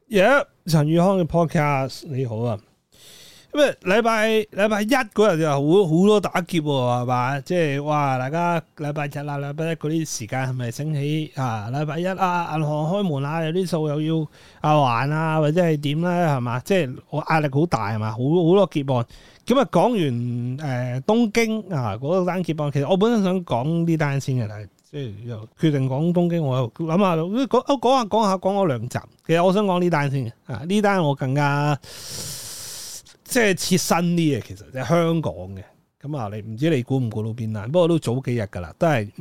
陳宇康嘅 podcast 你好啊，咁啊禮拜一嗰日就好多打劫喎，係嘛？即係哇，大家禮拜日啦、禮拜一嗰啲時間係咪醒起啊？禮拜一啊，銀行開門啊，有啲數又要還啊，或者係點咧，係嘛？即係我壓力好大係嘛？好多劫案。咁啊講完東京啊嗰單劫案，其實我本身想講呢單先嘅，但係即係又決定講東京，我又諗下講咗兩集。其實我想講呢單先嘅，呢單我更加即係切身啲嘅，其實即係香港嘅。咁啊，你唔知你估唔估到邊單？不過都早幾日噶啦，都係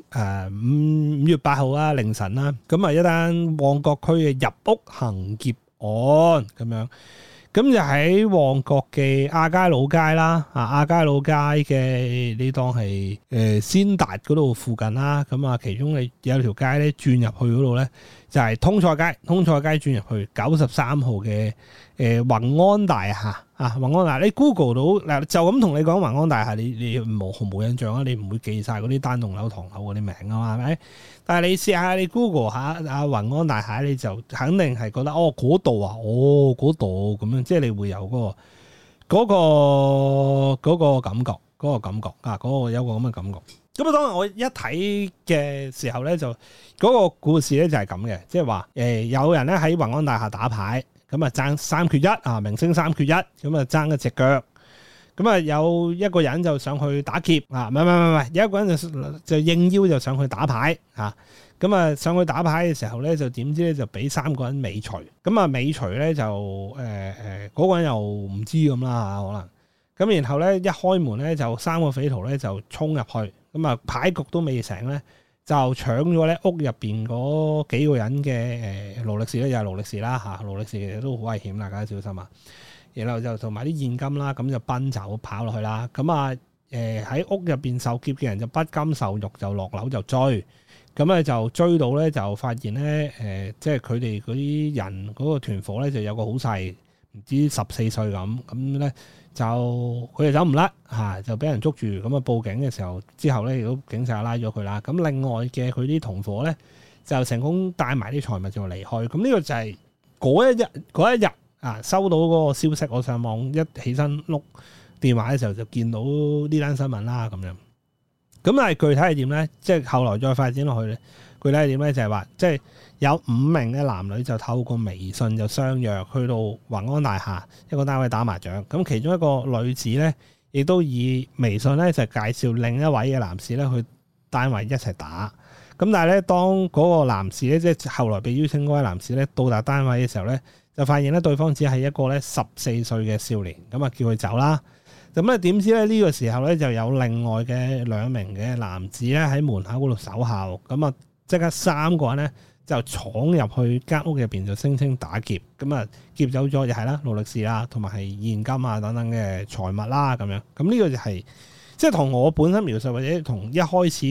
5月8號啊凌晨啦。咁啊一單旺角區嘅入屋行劫案咁樣。咁就喺旺角嘅亞皆老街啦，亞皆老街嘅呢檔係先達嗰度附近啦。咁啊，其中你有條街咧轉入去嗰度咧，就係通菜街轉入去93號嘅宏安大廈啊，宏安大廈你 Google 到嗱，就咁同你講宏安大廈，你毫無印象啊，你唔會記晒嗰啲單棟樓、唐樓嗰啲名啊嘛，係咪？但係你試下你 Google 下宏安大廈，你就肯定係覺得嗰度啊，嗰度咁樣，即係你會有嗰個感覺，有個咁嘅感覺。咁啊，當然我一睇嘅時候咧，就嗰個故事咧就係咁嘅，即係話有人咧喺宏安大廈打牌，咁啊爭3缺1啊，明星3缺1，咁啊爭一隻腳。咁啊，有一個人就上去打劫啊，唔係，有一個人就應邀就上去打牌啊。咁啊，上去打牌嘅時候咧，就點知咧就俾3個人尾隨。咁啊，尾隨咧就嗰個人又唔知咁啦可能。咁然後咧一開門咧就3個匪徒咧就衝入去，咁啊牌局都未成咧，就搶咗咧屋入邊嗰幾個人嘅勞力士咧，又係勞力士啦嚇，勞力士其實都好危險，大家小心啊！然後就同埋啲現金啦，咁就奔走跑落去啦。咁啊喺屋入邊受劫嘅人就不甘受辱，就落樓就追。咁咧就追到咧，就發現咧即係佢哋嗰啲人嗰個團伙咧，就有個好細，唔知14歲咁。咁咧就佢哋走唔甩嚇，就俾人捉住。咁啊報警嘅時候，之後咧亦都警察拉咗佢啦。咁另外嘅佢啲同伙咧，就成功帶埋啲財物就離開。咁呢個就係嗰一日。收到嗰個消息，我上網一起身碌電話嘅時候就見到呢單新聞啦咁樣。咁但係具體係點咧？即係後來再發展落去咧，具體係點咧？就係話即係有5名嘅男女就透過微信就相約去到宏安大廈一個單位打麻將。咁其中一個女子咧，亦都以微信咧就介紹另一位嘅男士咧去單位一齊打。咁但係咧，當嗰個男士咧，即係後來被邀請嗰位男士咧到達單位嘅時候咧，就發現咧對方只係一個咧14歲嘅少年，咁啊叫佢走啦。咁咧點知咧呢個時候咧就有另外嘅2名嘅男子咧喺門口嗰度守候，咁啊即刻3個人咧就闖入去間屋入邊就聲稱打劫，咁啊劫走咗就係啦勞力士啦，同埋係現金啊等等嘅財物啦咁樣。咁呢個就係即係同我本身描述或者同一開始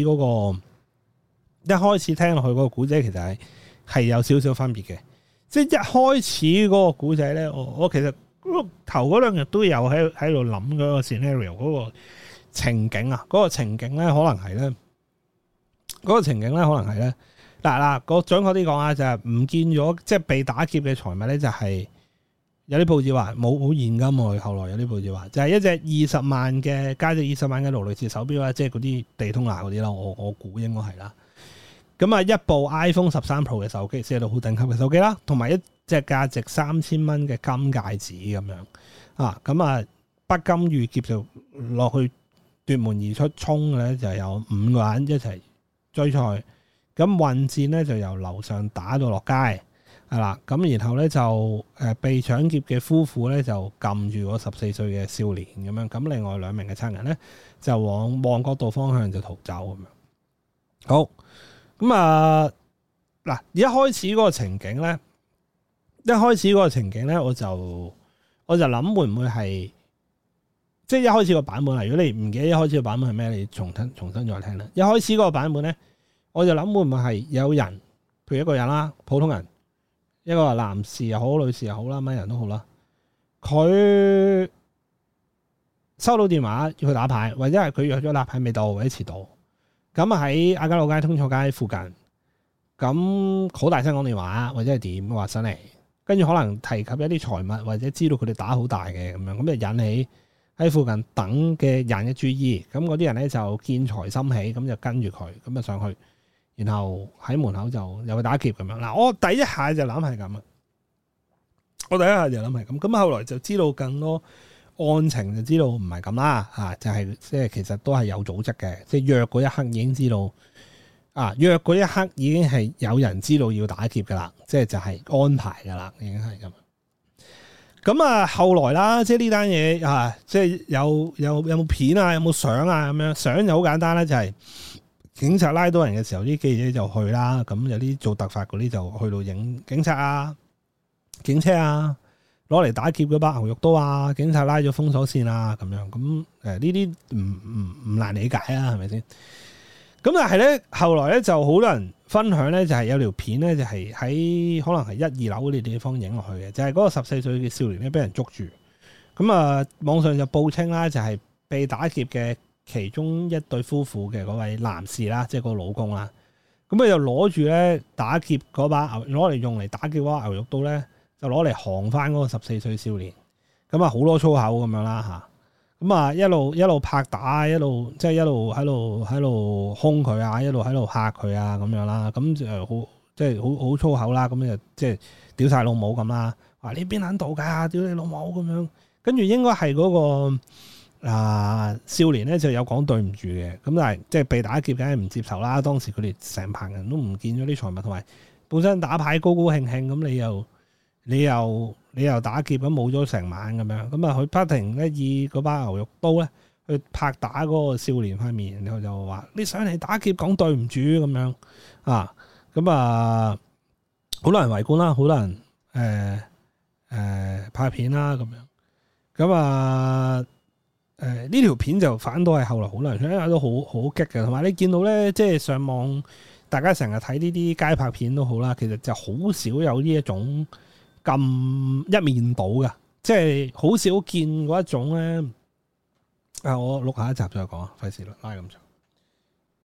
聽落去嗰個古仔其實係有少少分別嘅。即係一開始嗰個古仔咧，我其實頭嗰2日都有喺度諗嗰個 scenario 嗰個情景啊，嗰個情景咧可能係咧，嗱，個準確啲講啊，就係唔見咗，即係被打劫嘅財物咧，就係有啲報紙話冇現金喎，後來有啲報紙話就係一隻20萬嘅價值20萬嘅勞力士手錶啦，即係嗰啲地通拿嗰啲啦，我估應該係啦。咁啊，一部 iPhone 13 Pro 嘅手機，即係到好頂級嘅手機啦，同埋一隻價值3000蚊嘅金戒指咁樣啊。咁啊，不甘遇劫就落去奪門而出衝嘅咧，就有5個人一齊追賽。咁混戰咧就由樓上打到落街係啦。咁然後咧就被搶劫嘅夫婦咧就撳住嗰14歲嘅少年咁樣。咁另外2名嘅賊人咧就往旺角道方向就逃走咁樣。好。咁啊，嗱，一開始嗰個情景咧，我就諗會唔會係，即係一開始個版本啊？如果你唔記得一開始個版本係咩，你重新再聽啦。一開始嗰個版本咧，我就諗會唔會係有人，譬如一個人啦，普通人，一個男士又好，女士又好啦，乜人都好啦，佢收到電話要去打牌，或者係佢約咗打牌未到或者遲到。咁喺亞皆老街、通菜街附近，咁好大聲講電話，或者係點話上嚟， 跟住可能提及一啲財物或者知道佢哋打好大嘅咁樣，咁就引起喺附近等嘅人嘅注意。咁嗰啲人咧就見財心起，咁就跟住佢，咁就上去，然後喺門口就有個打劫咁樣。嗱，我第一下就諗係咁啊，咁後來就知道更多案情，就知道唔係咁啦，就係即係其實都係有組織嘅，即係約嗰一刻已經知道。約嗰一刻已經係有人知道要打劫噶啦，即係就係安排噶啦，已經係咁。咁後來啦，即係呢單嘢即係有冇片啊，有冇相啊咁樣？相就好簡單啦，就係警察拉到人嘅時候，啲記者就去啦。咁有啲做突發嗰啲就去到影警察啊、警車啊，攞嚟打劫嗰把牛肉刀啊，警察拉咗封鎖線啊咁樣。咁呢啲唔難理解啊，係咪先？咁但係咧，後來咧就好多人分享咧，就係有條片咧，就係喺可能係1、2樓嗰啲地方影落去嘅，就係嗰個14歲嘅少年咧，俾人捉住。咁網上就報稱啦，就係被打劫嘅其中一對夫婦嘅嗰位男士啦，即係個老公啦。咁佢就攞住咧打劫嗰把攞嚟用嚟打劫嗰把牛肉刀咧，就攞嚟行翻嗰個14歲少年。咁好多粗口咁樣啦嚇。咁一路拍打，一路喺度兇佢啊，一路喺度嚇佢啊咁樣啦，咁就好即係好粗口啦，咁就即係屌晒老母咁啦，話你邊撚度㗎，屌你老母咁樣，跟住應該係嗰個少年咧就有講對唔住嘅，咁但係即係被打劫梗係唔接受啦，當時佢哋成棚人都唔見咗啲財物，同埋本身打牌高高興興，咁你又打劫咁冇咗成晚咁樣，咁佢不停咧以嗰把牛肉刀咧去拍打嗰個少年塊面，然後就話你上嚟打劫講對唔住咁樣好多人圍觀啦，好多人拍片啦咁樣，呢條片就反倒係後來好多人睇都好激嘅，同埋你見到咧即係上網大家成日睇呢啲街拍片都好啦，其實就好少有呢一種咁一面倒嘅，即係好少見嗰一種咧。我錄下一集再講，費事啦，拉咁長。